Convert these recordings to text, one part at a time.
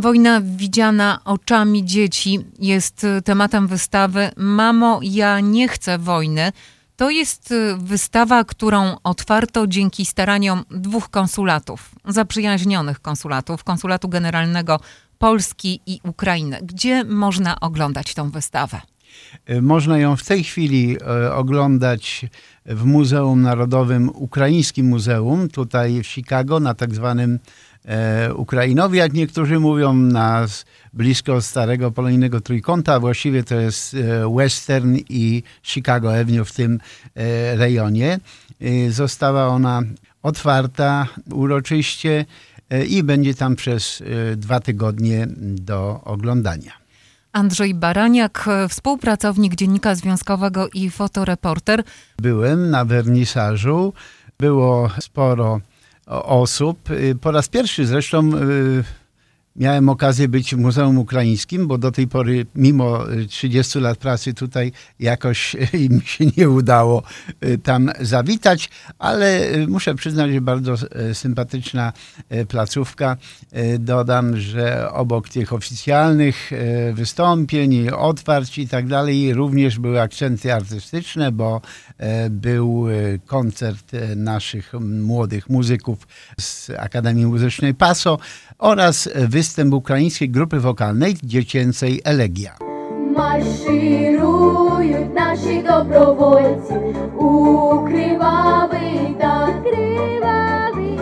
Wojna widziana oczami dzieci jest tematem wystawy Mamo, ja nie chcę wojny. To jest wystawa, którą otwarto dzięki staraniom 2 konsulatów, zaprzyjaźnionych konsulatów, Konsulatu Generalnego Polski i Ukrainy. Gdzie można oglądać tę wystawę? Można ją w tej chwili oglądać w Muzeum Narodowym, Ukraińskim Muzeum, tutaj w Chicago, na tak zwanym Ukrainowie, jak niektórzy mówią, blisko starego polonijnego trójkąta. Właściwie to jest Western i Chicago Avenue w tym rejonie. Została ona otwarta uroczyście i będzie tam przez 2 tygodnie do oglądania. Andrzej Baraniak, współpracownik Dziennika Związkowego i fotoreporter. Byłem na wernisażu, było sporo osób. Po raz pierwszy zresztą miałem okazję być w Muzeum Ukraińskim, bo do tej pory, mimo 30 lat pracy tutaj, jakoś mi się nie udało tam zawitać, ale muszę przyznać, że bardzo sympatyczna placówka. Dodam, że obok tych oficjalnych wystąpień, otwarć i tak dalej, również były akcenty artystyczne, bo był koncert naszych młodych muzyków z Akademii Muzycznej PASO oraz występ ukraińskiej grupy wokalnej dziecięcej Elegia. Марширують наші добровольці у кривавий та кривавий,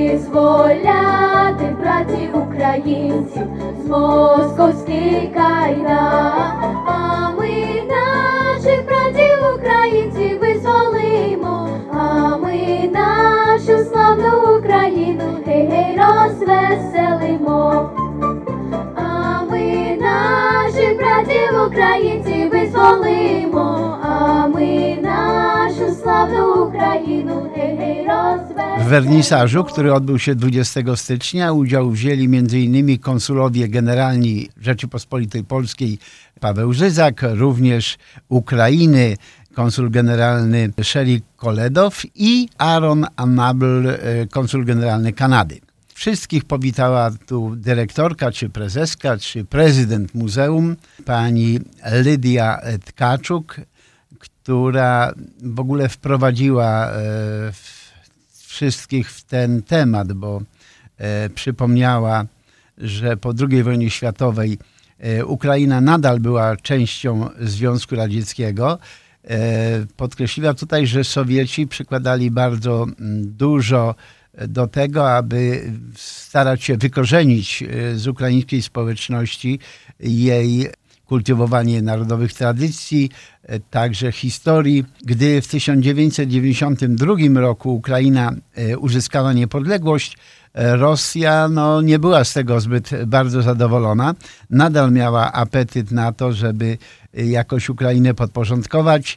визволяти братів українців з московських кайдан. А ми наших братів українців визволимо, а ми нашу славну Україну гей-гей розвеселимо. А ми наших братів українців визволимо, а ми нашу славну Україну гей-гей розвеселимо. W wernisażu, który odbył się 20 stycznia, udział wzięli m.in. konsulowie generalni Rzeczypospolitej Polskiej Paweł Żyzak, również Ukrainy konsul generalny Sherry Koledow i Aaron Anabel, konsul generalny Kanady. Wszystkich powitała tu dyrektorka, czy prezeska, czy prezydent muzeum, pani Lidia Tkaczuk, która w ogóle wprowadziła wszystkich w ten temat, bo przypomniała, że po II wojnie światowej Ukraina nadal była częścią Związku Radzieckiego. Podkreśliła tutaj, że Sowieci przykładali bardzo dużo do tego, aby starać się wykorzenić z ukraińskiej społeczności jej kultywowanie narodowych tradycji, także historii. Gdy w 1992 roku Ukraina uzyskała niepodległość, Rosja nie była z tego zbyt bardzo zadowolona. Nadal miała apetyt na to, żeby jakoś Ukrainę podporządkować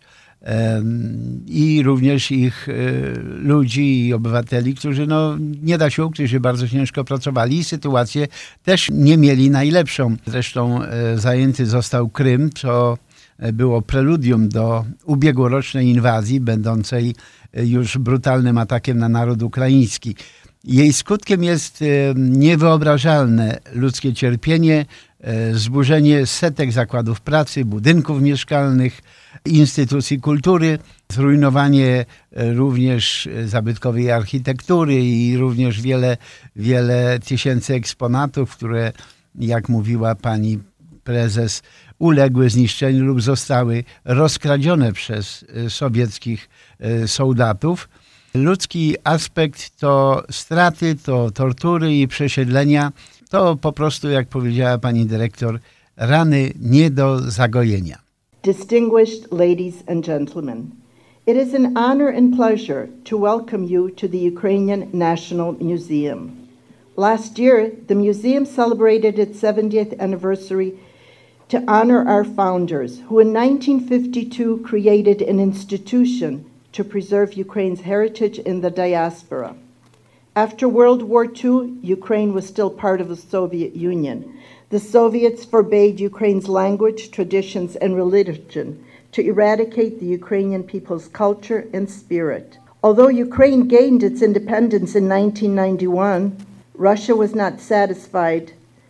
i również ich ludzi i obywateli, którzy nie da się ukryć, że bardzo ciężko pracowali i sytuację też nie mieli najlepszą. Zresztą zajęty został Krym, co było preludium do ubiegłorocznej inwazji, będącej już brutalnym atakiem na naród ukraiński. Jej skutkiem jest niewyobrażalne ludzkie cierpienie, zburzenie setek zakładów pracy, budynków mieszkalnych, instytucji kultury, zrujnowanie również zabytkowej architektury i również wiele tysięcy eksponatów, które, jak mówiła pani prezes, uległy zniszczeniu lub zostały rozkradzione przez sowieckich soldatów. Ludzki aspekt to straty, to tortury i przesiedlenia. To po prostu, jak powiedziała pani dyrektor, rany nie do zagojenia. Distinguished ladies and gentlemen, it is an honor and pleasure to welcome you to the Ukrainian National Museum. Last year, the museum celebrated its 70th anniversary to honor our founders, who in 1952 created an institution to preserve Ukraine's heritage in the diaspora. After World War II, Ukraine was still part of the Soviet Union. The Soviets forbade Ukraine's language, traditions, and religion to eradicate the Ukrainian people's culture and spirit. Although Ukraine gained its independence in 1991, Russia was not satisfied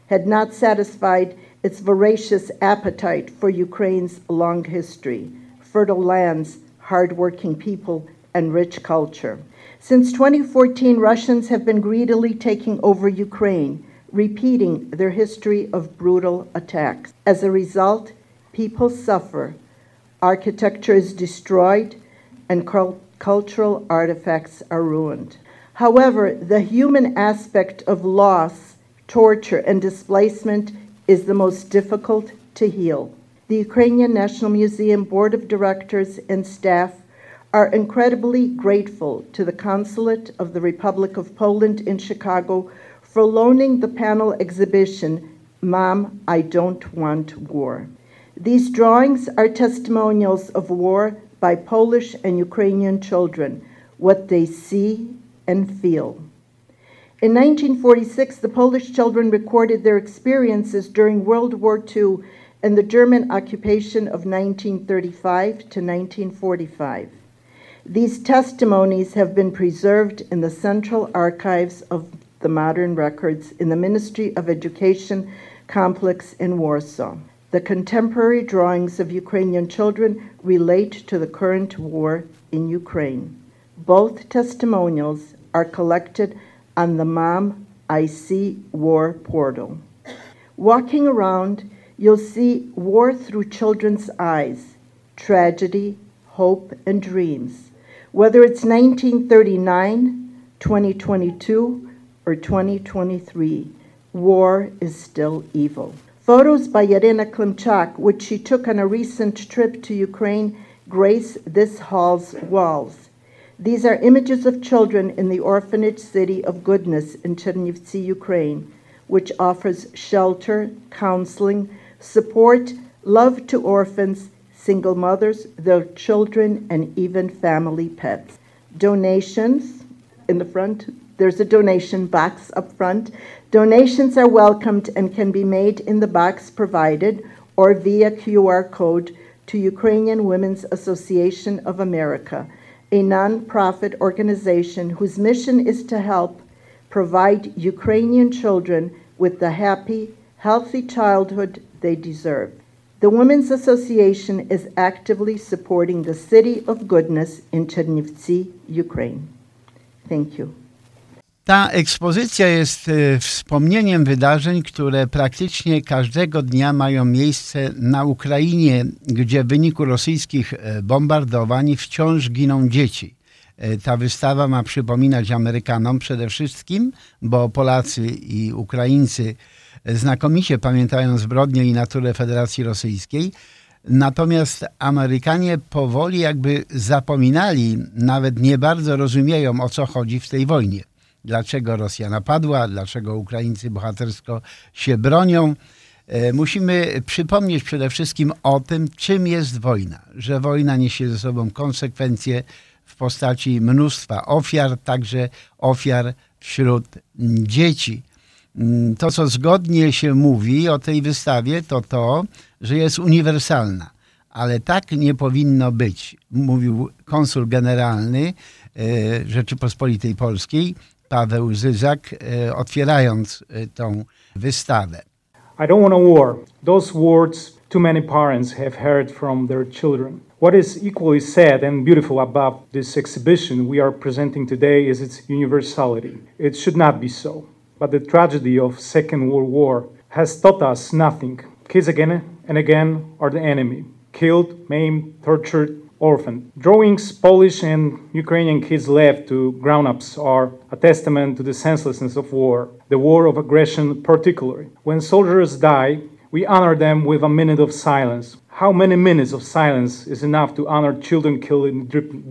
had not satisfied its voracious appetite for Ukraine's long history, fertile lands, hard-working people, and rich culture. Since 2014, Russians have been greedily taking over Ukraine, repeating their history of brutal attacks. As a result, people suffer, architecture is destroyed, and cultural artifacts are ruined. However, the human aspect of loss, torture, and displacement is the most difficult to heal. The Ukrainian National Museum Board of Directors and staff are incredibly grateful to the Consulate of the Republic of Poland in Chicago for loaning the panel exhibition, Mom, I Don't Want War. These drawings are testimonials of war by Polish and Ukrainian children, what they see and feel. In 1946, the Polish children recorded their experiences during World War II and the German occupation of 1935 to 1945. These testimonies have been preserved in the Central Archives of the Modern Records in the Ministry of Education complex in Warsaw. The contemporary drawings of Ukrainian children relate to the current war in Ukraine. Both testimonials are collected on the Mom, I See War portal. Walking around, you'll see war through children's eyes, tragedy, hope, and dreams. Whether it's 1939, 2022, or 2023, war is still evil. Photos by Yarina Klimchak, which she took on a recent trip to Ukraine, grace this hall's walls. These are images of children in the orphanage city of Goodness in Chernivtsi, Ukraine, which offers shelter, counseling, support, love to orphans, single mothers, their children, and even family pets. Donations in the front. There's a donation box up front. Donations are welcomed and can be made in the box provided or via QR code to Ukrainian Women's Association of America, a non-profit organization whose mission is to help provide Ukrainian children with the happy, healthy childhood they deserve. The Women's Association is actively supporting the City of Goodness in Chernivtsi, Ukraine. Thank you. Ta ekspozycja jest wspomnieniem wydarzeń, które praktycznie każdego dnia mają miejsce na Ukrainie, gdzie w wyniku rosyjskich bombardowań wciąż giną dzieci. Ta wystawa ma przypominać Amerykanom przede wszystkim, bo Polacy i Ukraińcy znakomicie pamiętają zbrodnie i naturę Federacji Rosyjskiej. Natomiast Amerykanie powoli jakby zapominali, nawet nie bardzo rozumieją, o co chodzi w tej wojnie. Dlaczego Rosja napadła, dlaczego Ukraińcy bohatersko się bronią. Musimy przypomnieć przede wszystkim o tym, czym jest wojna. Że wojna niesie ze sobą konsekwencje w postaci mnóstwa ofiar, także ofiar wśród dzieci. To, co zgodnie się mówi o tej wystawie, to, że jest uniwersalna. Ale tak nie powinno być, mówił konsul generalny Rzeczypospolitej Polskiej, Paweł Zyzak, otwierając tą wystawę. I don't want a war. Those words too many parents have heard from their children. What is equally sad and beautiful about this exhibition we are presenting today is its universality. It should not be so. But the tragedy of Second World War has taught us nothing. Kids again and again are the enemy. Killed, maimed, tortured, orphaned. Drawings Polish and Ukrainian kids left to grown-ups are a testament to the senselessness of war, the war of aggression particularly. When soldiers die, we honor them with a minute of silence. How many minutes of silence is enough to honor children killed in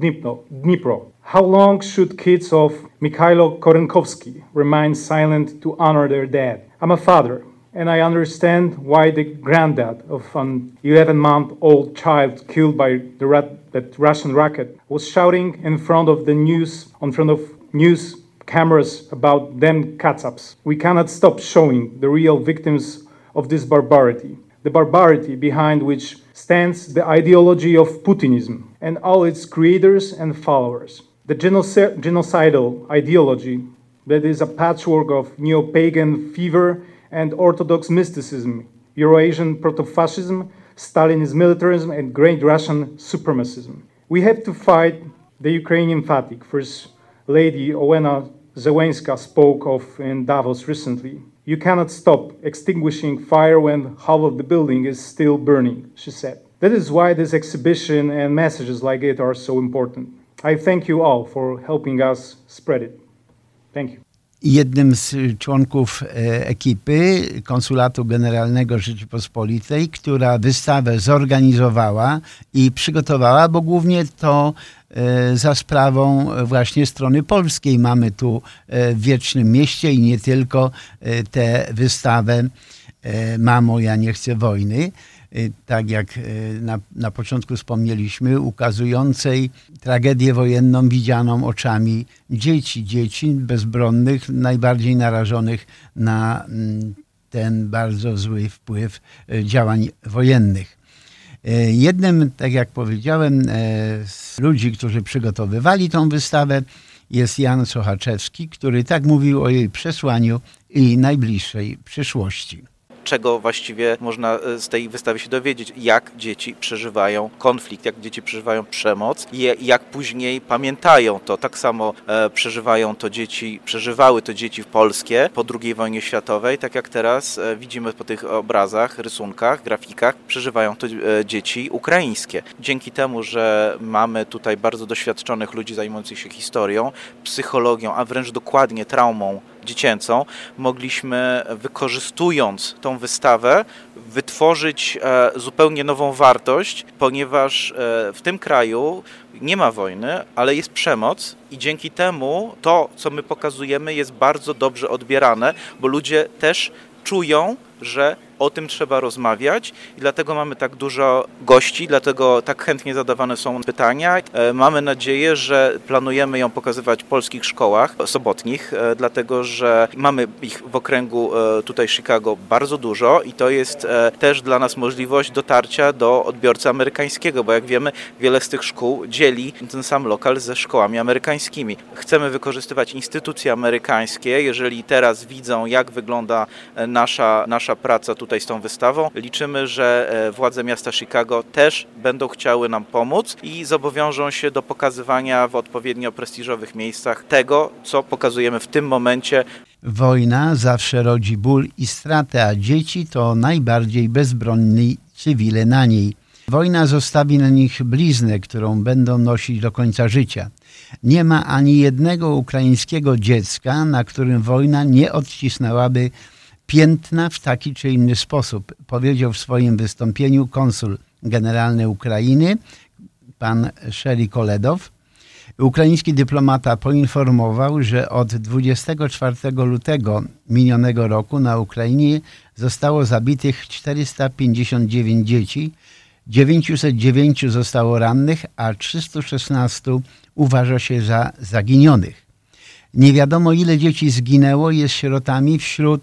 Dnipro? How long should kids of Mikhailo Korenkowski remain silent to honor their dead? I'm a father, and I understand why the granddad of an 11-month-old child killed by that Russian rocket was shouting in front of news cameras about them Katsabs. We cannot stop showing the real victims of this barbarity, the barbarity behind which stands the ideology of Putinism and all its creators and followers. The genocidal ideology that is a patchwork of neo-pagan fever and Orthodox mysticism, Eurasian proto-fascism, Stalinist militarism, and Great Russian supremacism. We have to fight the Ukrainian fatigue. First Lady Olena Zelenska spoke of in Davos recently. You cannot stop extinguishing fire when half of the building is still burning, she said. That is why this exhibition and messages like it are so important. I thank you all for helping us spread it. Thank you. Jednym z członków ekipy Konsulatu Generalnego Rzeczypospolitej, która wystawę zorganizowała i przygotowała, bo głównie to za sprawą właśnie strony polskiej mamy tu w Wiecznym Mieście i nie tylko tę wystawę Mamo, ja nie chcę wojny, tak jak na początku wspomnieliśmy, ukazującej tragedię wojenną widzianą oczami dzieci bezbronnych, najbardziej narażonych na ten bardzo zły wpływ działań wojennych. Jednym, tak jak powiedziałem, z ludzi, którzy przygotowywali tą wystawę, jest Jan Sochaczewski, który tak mówił o jej przesłaniu i najbliższej przyszłości. Czego właściwie można z tej wystawy się dowiedzieć, jak dzieci przeżywają konflikt, jak dzieci przeżywają przemoc i jak później pamiętają to. Tak samo przeżywały to dzieci polskie po II wojnie światowej, tak jak teraz widzimy po tych obrazach, rysunkach, grafikach, przeżywają to dzieci ukraińskie. Dzięki temu, że mamy tutaj bardzo doświadczonych ludzi zajmujących się historią, psychologią, a wręcz dokładnie traumą dziecięcą, mogliśmy, wykorzystując tą wystawę, wytworzyć zupełnie nową wartość, ponieważ w tym kraju nie ma wojny, ale jest przemoc i dzięki temu to, co my pokazujemy, jest bardzo dobrze odbierane, bo ludzie też czują, że o tym trzeba rozmawiać i dlatego mamy tak dużo gości, dlatego tak chętnie zadawane są pytania. Mamy nadzieję, że planujemy ją pokazywać w polskich szkołach sobotnich, dlatego że mamy ich w okręgu tutaj Chicago bardzo dużo i to jest też dla nas możliwość dotarcia do odbiorcy amerykańskiego, bo jak wiemy, wiele z tych szkół dzieli ten sam lokal ze szkołami amerykańskimi. Chcemy wykorzystywać instytucje amerykańskie, jeżeli teraz widzą, jak wygląda nasza praca tutaj z tą wystawą. Liczymy, że władze miasta Chicago też będą chciały nam pomóc i zobowiążą się do pokazywania w odpowiednio prestiżowych miejscach tego, co pokazujemy w tym momencie. Wojna zawsze rodzi ból i stratę, a dzieci to najbardziej bezbronni cywile na niej. Wojna zostawi na nich bliznę, którą będą nosić do końca życia. Nie ma ani jednego ukraińskiego dziecka, na którym wojna nie odcisnęłaby piętna w taki czy inny sposób, powiedział w swoim wystąpieniu konsul generalny Ukrainy, pan Szeri Koledow. Ukraiński dyplomata poinformował, że od 24 lutego minionego roku na Ukrainie zostało zabitych 459 dzieci, 909 zostało rannych, a 316 uważa się za zaginionych. Nie wiadomo, ile dzieci zginęło i jest sierotami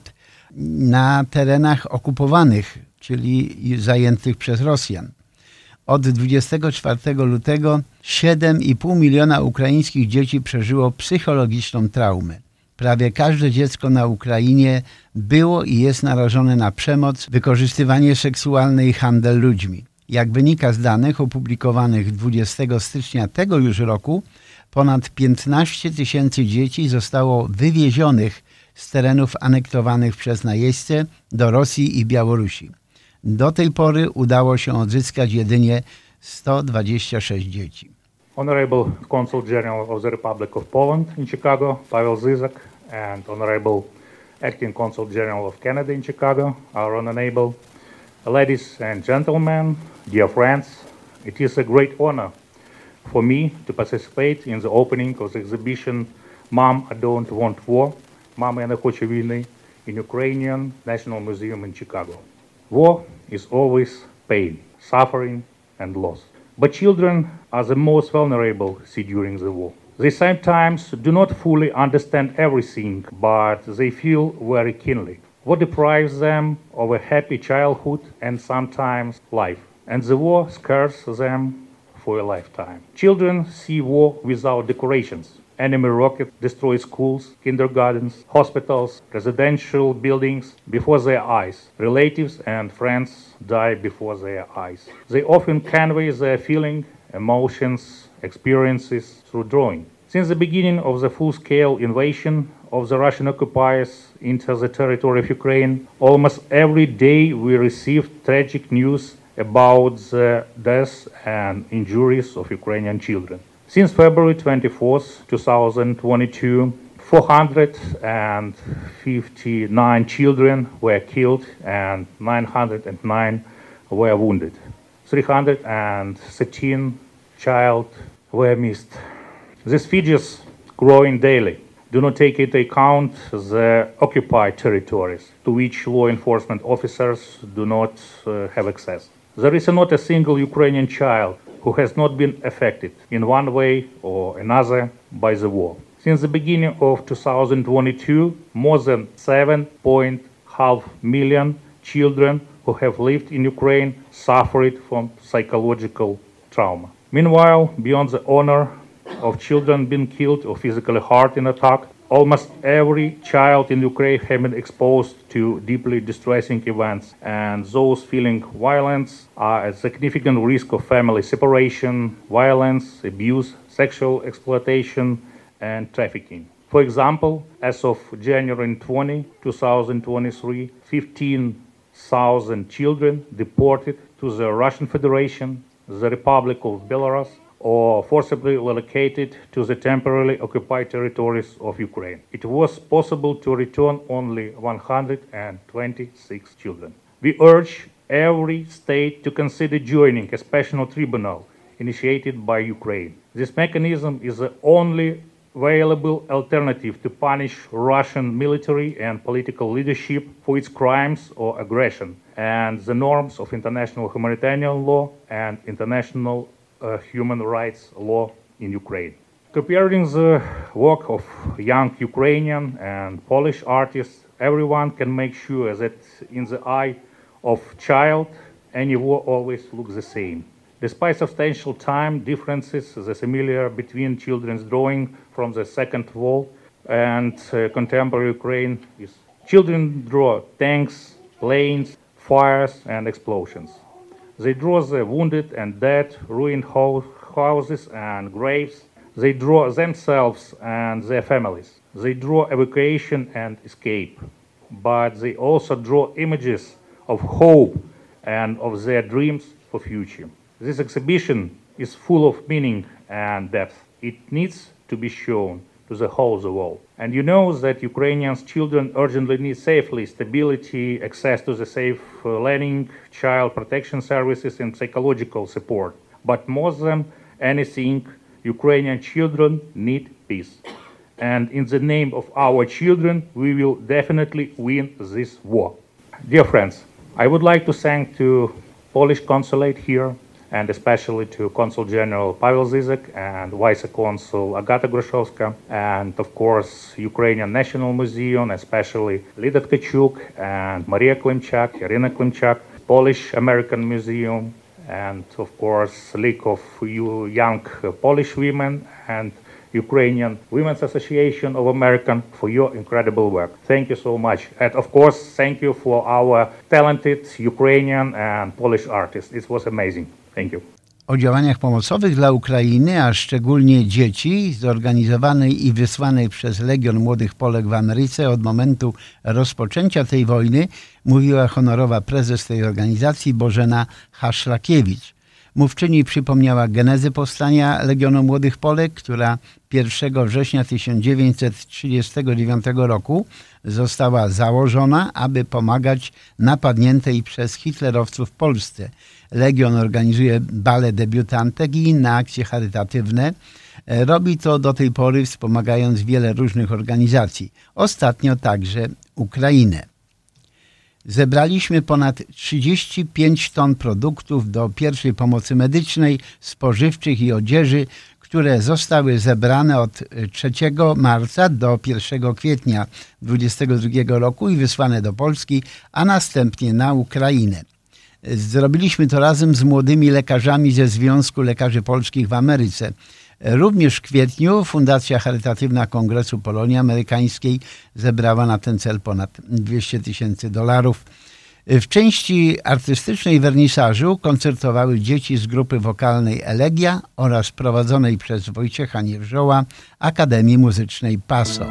na terenach okupowanych, czyli zajętych przez Rosjan. Od 24 lutego 7,5 miliona ukraińskich dzieci przeżyło psychologiczną traumę. Prawie każde dziecko na Ukrainie było i jest narażone na przemoc, wykorzystywanie seksualne i handel ludźmi. Jak wynika z danych opublikowanych 20 stycznia tego już roku, ponad 15 tysięcy dzieci zostało wywiezionych z terenów anektowanych przez najeźdźcę do Rosji i Białorusi. Do tej pory udało się odzyskać jedynie 126 dzieci. Honorable Consul General of the Republic of Poland in Chicago, Paweł Zyzak, and Honorable Acting Consul General of Canada in Chicago, our honorable. Ladies and gentlemen, dear friends, it is a great honor for me to participate in the opening of the exhibition Mom, I Don't Want War, Mama, я не хочу війни, in Ukrainian National Museum in Chicago. War is always pain, suffering, and loss. But children are the most vulnerable during the war. They sometimes do not fully understand everything, but they feel very keenly. War deprives them of a happy childhood and sometimes life, and the war scars them for a lifetime. Children see war without decorations, enemy rocket destroy schools, kindergartens, hospitals, residential buildings before their eyes. Relatives and friends die before their eyes. They often convey their feelings, emotions, experiences through drawing. Since the beginning of the full-scale invasion of the Russian occupiers into the territory of Ukraine, almost every day we received tragic news about the deaths and injuries of Ukrainian children. Since February 24th, 2022, 459 children were killed and 909 were wounded. 313 children were missed. These figures, growing daily, do not take into account the occupied territories to which law enforcement officers do not have access. There is not a single Ukrainian child who has not been affected in one way or another by the war. Since the beginning of 2022, more than 7.5 million children who have lived in Ukraine suffered from psychological trauma. Meanwhile, beyond the honor of children being killed or physically hurt in attack, almost every child in Ukraine has been exposed to deeply distressing events, and those feeling violence are at significant risk of family separation, violence, abuse, sexual exploitation, and trafficking. For example, as of January 20, 2023, 15,000 children deported to the Russian Federation, the Republic of Belarus, or forcibly relocated to the temporarily occupied territories of Ukraine. It was possible to return only 126 children. We urge every state to consider joining a special tribunal initiated by Ukraine. This mechanism is the only available alternative to punish Russian military and political leadership for its crimes or aggression, and the norms of international humanitarian law and international human rights law in Ukraine. Comparing the work of young Ukrainian and Polish artists, everyone can make sure that in the eye of child, any war always looks the same. Despite substantial time differences, the similarity between children's drawing from the Second World and contemporary Ukraine is children draw tanks, planes, fires, and explosions. They draw the wounded and dead, ruined houses and graves. They draw themselves and their families. They draw evacuation and escape. But they also draw images of hope and of their dreams for future. This exhibition is full of meaning and depth. It needs to be shown to the whole world. And you know that Ukrainian children urgently need safety, stability, access to the safe learning, child protection services, and psychological support. But more than anything, Ukrainian children need peace. And in the name of our children, we will definitely win this war. Dear friends, I would like to thank to Polish consulate here, and especially to Consul General Pavel Zizek and Vice Consul Agata Gruszowska, and of course Ukrainian National Museum, especially Lida Tkachuk and Maria Klimchak, Irina Klimchak, Polish American Museum, and of course League of Young Polish Women and Ukrainian Women's Association of America for your incredible work. Thank you so much. And of course, thank you for our talented Ukrainian and Polish artists. It was amazing. Thank you. O działaniach pomocowych dla Ukrainy, a szczególnie dzieci, zorganizowanej i wysłanej przez Legion Młodych Polek w Ameryce od momentu rozpoczęcia tej wojny, mówiła honorowa prezes tej organizacji Bożena Haszlakiewicz. Mówczyni przypomniała genezę powstania Legionu Młodych Polek, która 1 września 1939 roku została założona, aby pomagać napadniętej przez hitlerowców Polsce. Legion organizuje bale debiutantek i inne akcje charytatywne. Robi to do tej pory, wspomagając wiele różnych organizacji. Ostatnio także Ukrainę. Zebraliśmy ponad 35 ton produktów do pierwszej pomocy medycznej, spożywczych i odzieży, które zostały zebrane od 3 marca do 1 kwietnia 2022 roku i wysłane do Polski, a następnie na Ukrainę. Zrobiliśmy to razem z młodymi lekarzami ze Związku Lekarzy Polskich w Ameryce. Również w kwietniu Fundacja Charytatywna Kongresu Polonii Amerykańskiej zebrała na ten cel ponad $200,000. W części artystycznej wernisażu koncertowały dzieci z grupy wokalnej Elegia oraz prowadzonej przez Wojciecha Niewrzoła Akademii Muzycznej PASO.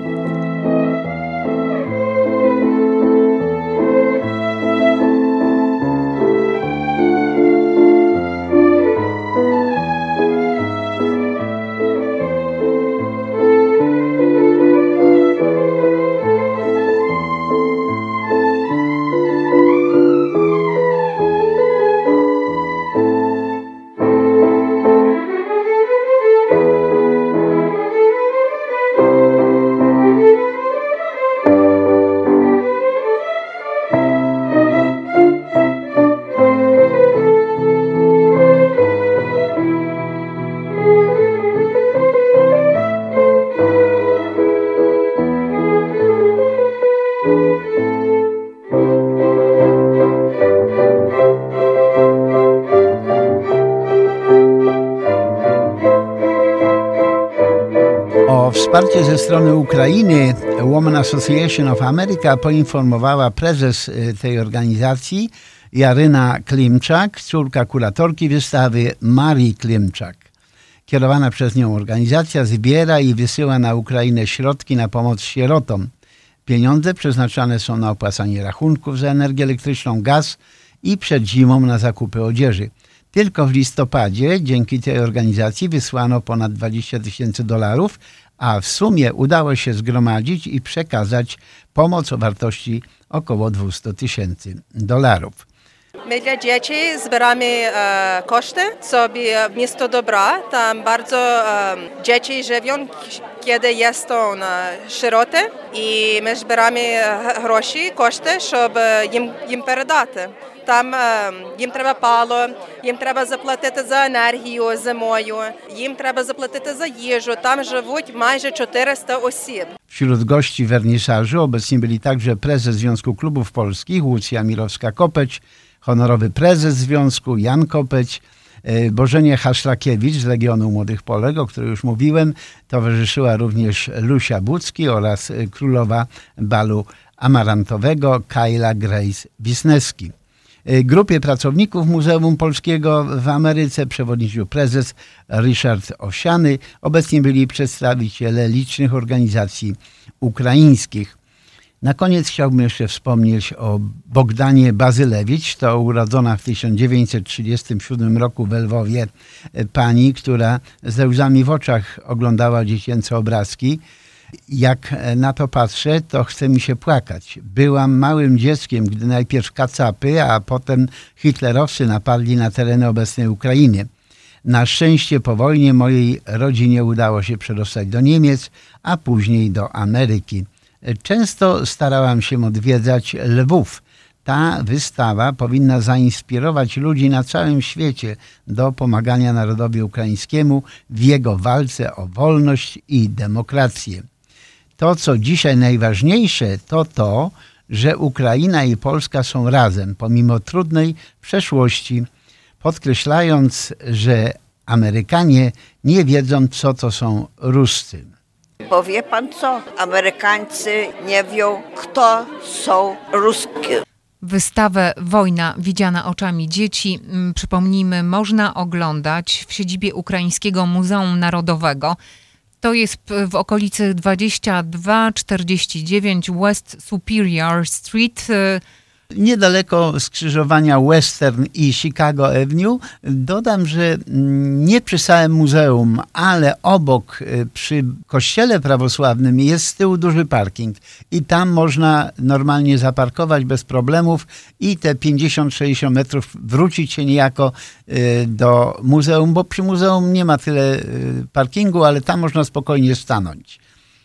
O wsparcie ze strony Ukrainy Women Association of America poinformowała prezes tej organizacji Jaryna Klimczak, córka kuratorki wystawy Marii Klimczak. Kierowana przez nią organizacja zbiera i wysyła na Ukrainę środki na pomoc sierotom. Pieniądze przeznaczane są na opłacanie rachunków za energię elektryczną, gaz i przed zimą na zakupy odzieży. Tylko w listopadzie dzięki tej organizacji wysłano ponad $20,000, a w sumie udało się zgromadzić i przekazać pomoc o wartości około $200,000. My dla dzieci zbieramy koszty sobie w miasto Dobra. Tam bardzo dzieci żyją, kiedy jest to sieroty i my zbieramy koszty, żeby їм передати. Там їм треба пало, їм треба заплатити за енергію зимою, їм треба заплатити за їжу. Tam живуть майже 400 osób. Wśród gości wernisażu obecni byli także prezes Związku Klubów Polskich Łucja Mirowska-Kopeć, honorowy prezes związku Jan Kopeć, Bożenie Haszlakiewicz z Legionu Młodych Polek, o której już mówiłem. Towarzyszyła również Lucia Bucki oraz królowa balu amarantowego Kayla Grace Wisniewski. Grupie pracowników Muzeum Polskiego w Ameryce przewodniczył prezes Ryszard Owsiany. Obecni byli przedstawiciele licznych organizacji ukraińskich. Na koniec chciałbym jeszcze wspomnieć o Bogdanie Bazylewicz. To urodzona w 1937 roku w Lwowie pani, która ze łzami w oczach oglądała dziecięce obrazki. Jak na to patrzę, to chce mi się płakać. Byłam małym dzieckiem, gdy najpierw kacapy, a potem hitlerowcy napadli na tereny obecnej Ukrainy. Na szczęście po wojnie mojej rodzinie udało się przedostać do Niemiec, a później do Ameryki. Często starałam się odwiedzać Lwów. Ta wystawa powinna zainspirować ludzi na całym świecie do pomagania narodowi ukraińskiemu w jego walce o wolność i demokrację. To, co dzisiaj najważniejsze, to to, że Ukraina i Polska są razem, pomimo trudnej przeszłości, podkreślając, że Amerykanie nie wiedzą, co to są Ruscy. Bo wie pan co? Amerykańcy nie wiedzą, kto są Ruskie. Wystawę Wojna widziana oczami dzieci, przypomnijmy, można oglądać w siedzibie Ukraińskiego Muzeum Narodowego. To jest w okolicy 2249 West Superior Street. Niedaleko skrzyżowania Western i Chicago Avenue. Dodam, że nie przy samym muzeum, ale obok przy kościele prawosławnym jest z tyłu duży parking i tam można normalnie zaparkować bez problemów i te 50-60 metrów wrócić się niejako do muzeum, bo przy muzeum nie ma tyle parkingu, ale tam można spokojnie stanąć.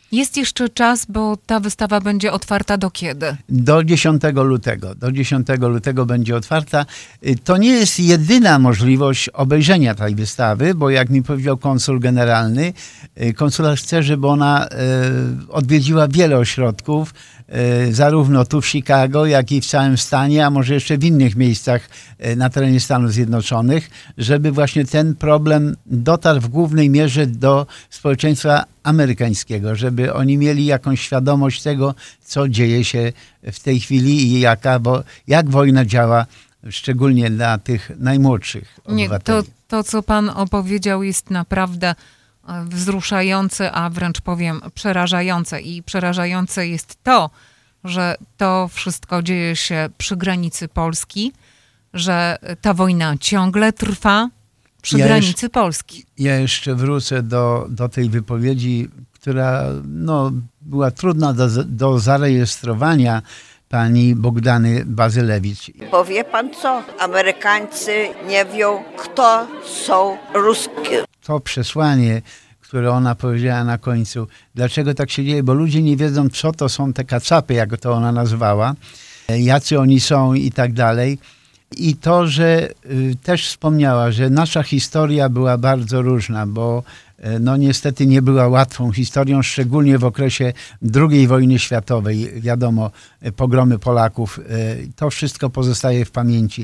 Jest jeszcze czas, bo ta wystawa będzie otwarta do kiedy? Do 10 lutego. Do 10 lutego będzie otwarta. To nie jest jedyna możliwość obejrzenia tej wystawy, bo jak mi powiedział konsul generalny, konsulat chce, żeby ona odwiedziła wiele ośrodków, zarówno tu w Chicago, jak i w całym stanie, a może jeszcze w innych miejscach na terenie Stanów Zjednoczonych, żeby właśnie ten problem dotarł w głównej mierze do społeczeństwa amerykańskiego, żeby oni mieli jakąś świadomość tego, co dzieje się w tej chwili i jak wojna działa, szczególnie dla tych najmłodszych obywateli. Nie, to, co pan opowiedział, jest naprawdę wzruszające, a wręcz powiem przerażające. I przerażające jest to, że to wszystko dzieje się przy granicy Polski, że ta wojna ciągle trwa przy granicy Polski. Ja jeszcze wrócę do tej wypowiedzi, która była trudna do zarejestrowania, pani Bogdany Bazylewicz. Powie pan co? Amerykańcy nie wiedzą, kto są Ruskie. To przesłanie, które ona powiedziała na końcu, dlaczego tak się dzieje, bo ludzie nie wiedzą, co to są te kacapy, jak to ona nazwała, jacy oni są i tak dalej. I to, że też wspomniała, że nasza historia była bardzo różna, bo niestety nie była łatwą historią, szczególnie w okresie II wojny światowej. Wiadomo, pogromy Polaków, to wszystko pozostaje w pamięci.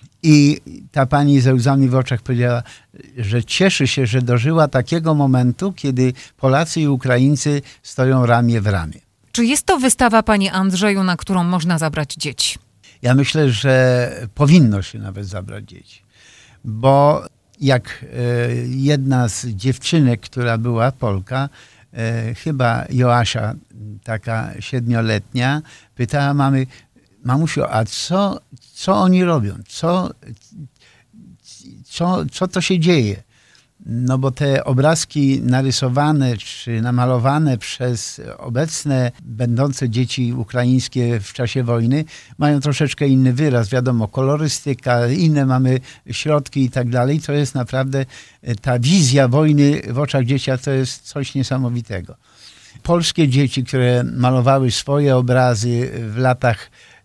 I ta pani ze łzami w oczach powiedziała, że cieszy się, że dożyła takiego momentu, kiedy Polacy i Ukraińcy stoją ramię w ramię. Czy jest to wystawa, panie Andrzeju, na którą można zabrać dzieci? Ja myślę, że powinno się nawet zabrać dzieci, bo jak jedna z dziewczynek, która była Polka, chyba Joasia, taka 7-letnia, pytała mamy, mamusiu, a co oni robią? Co to się dzieje? No bo te obrazki narysowane czy namalowane przez obecne, będące dzieci ukraińskie w czasie wojny mają troszeczkę inny wyraz. Wiadomo, kolorystyka, inne mamy środki i tak dalej. To jest naprawdę ta wizja wojny w oczach dziecka, to jest coś niesamowitego. Polskie dzieci, które malowały swoje obrazy w latach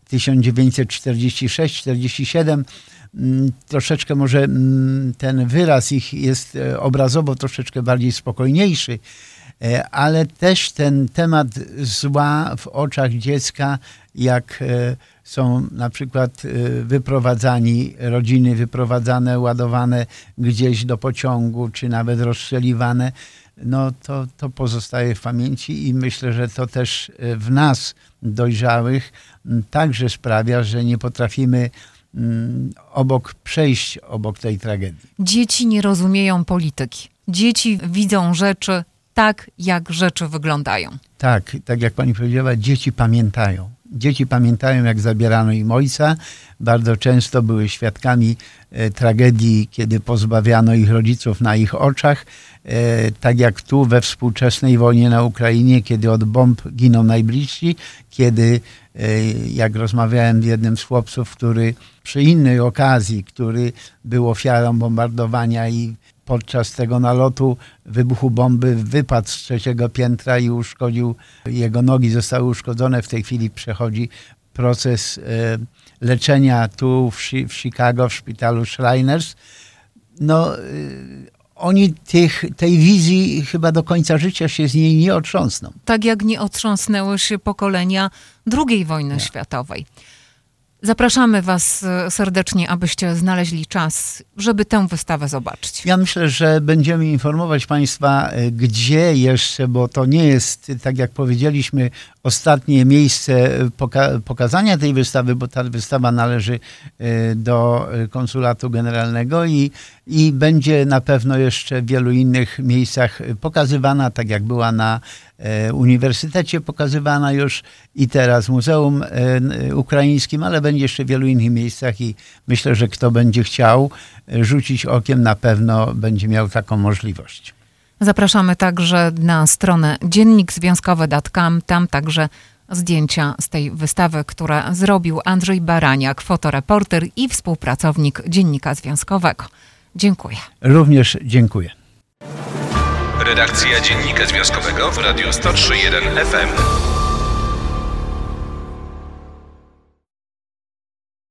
1946-47, troszeczkę może ten wyraz ich jest obrazowo troszeczkę bardziej spokojniejszy, ale też ten temat zła w oczach dziecka, jak są na przykład rodziny wyprowadzane, ładowane gdzieś do pociągu, czy nawet rozstrzeliwane, to pozostaje w pamięci i myślę, że to też w nas dojrzałych także sprawia, że nie potrafimy przejść obok tej tragedii. Dzieci nie rozumieją polityki. Dzieci widzą rzeczy tak, jak rzeczy wyglądają. Tak jak pani powiedziała, dzieci pamiętają. Dzieci pamiętają, jak zabierano im ojca. Bardzo często były świadkami tragedii, kiedy pozbawiano ich rodziców na ich oczach. Tak jak tu we współczesnej wojnie na Ukrainie, kiedy od bomb giną najbliżsi, kiedy, jak rozmawiałem z jednym z chłopców, który przy innej okazji, który był ofiarą bombardowania i podczas tego nalotu wybuchu bomby wypadł z 3. piętra i jego nogi zostały uszkodzone. W tej chwili przechodzi proces leczenia tu w Chicago, w szpitalu Shriners. Oni tej wizji chyba do końca życia się z niej nie otrząsną. Tak jak nie otrząsnęły się pokolenia II wojny światowej. Zapraszamy was serdecznie, abyście znaleźli czas, żeby tę wystawę zobaczyć. Ja myślę, że będziemy informować państwa, gdzie jeszcze, bo to nie jest, tak jak powiedzieliśmy, ostatnie miejsce pokazania tej wystawy, bo ta wystawa należy do konsulatu generalnego i będzie na pewno jeszcze w wielu innych miejscach pokazywana, tak jak była na uniwersytecie pokazywana już i teraz w Muzeum Ukraińskim, ale będzie jeszcze w wielu innych miejscach i myślę, że kto będzie chciał rzucić okiem, na pewno będzie miał taką możliwość. Zapraszamy także na stronę dziennikzwiązkowy.com, tam także zdjęcia z tej wystawy, które zrobił Andrzej Baraniak, fotoreporter i współpracownik Dziennika Związkowego. Dziękuję. Również dziękuję. Redakcja Dziennika Związkowego w Radiu 103.1 FM.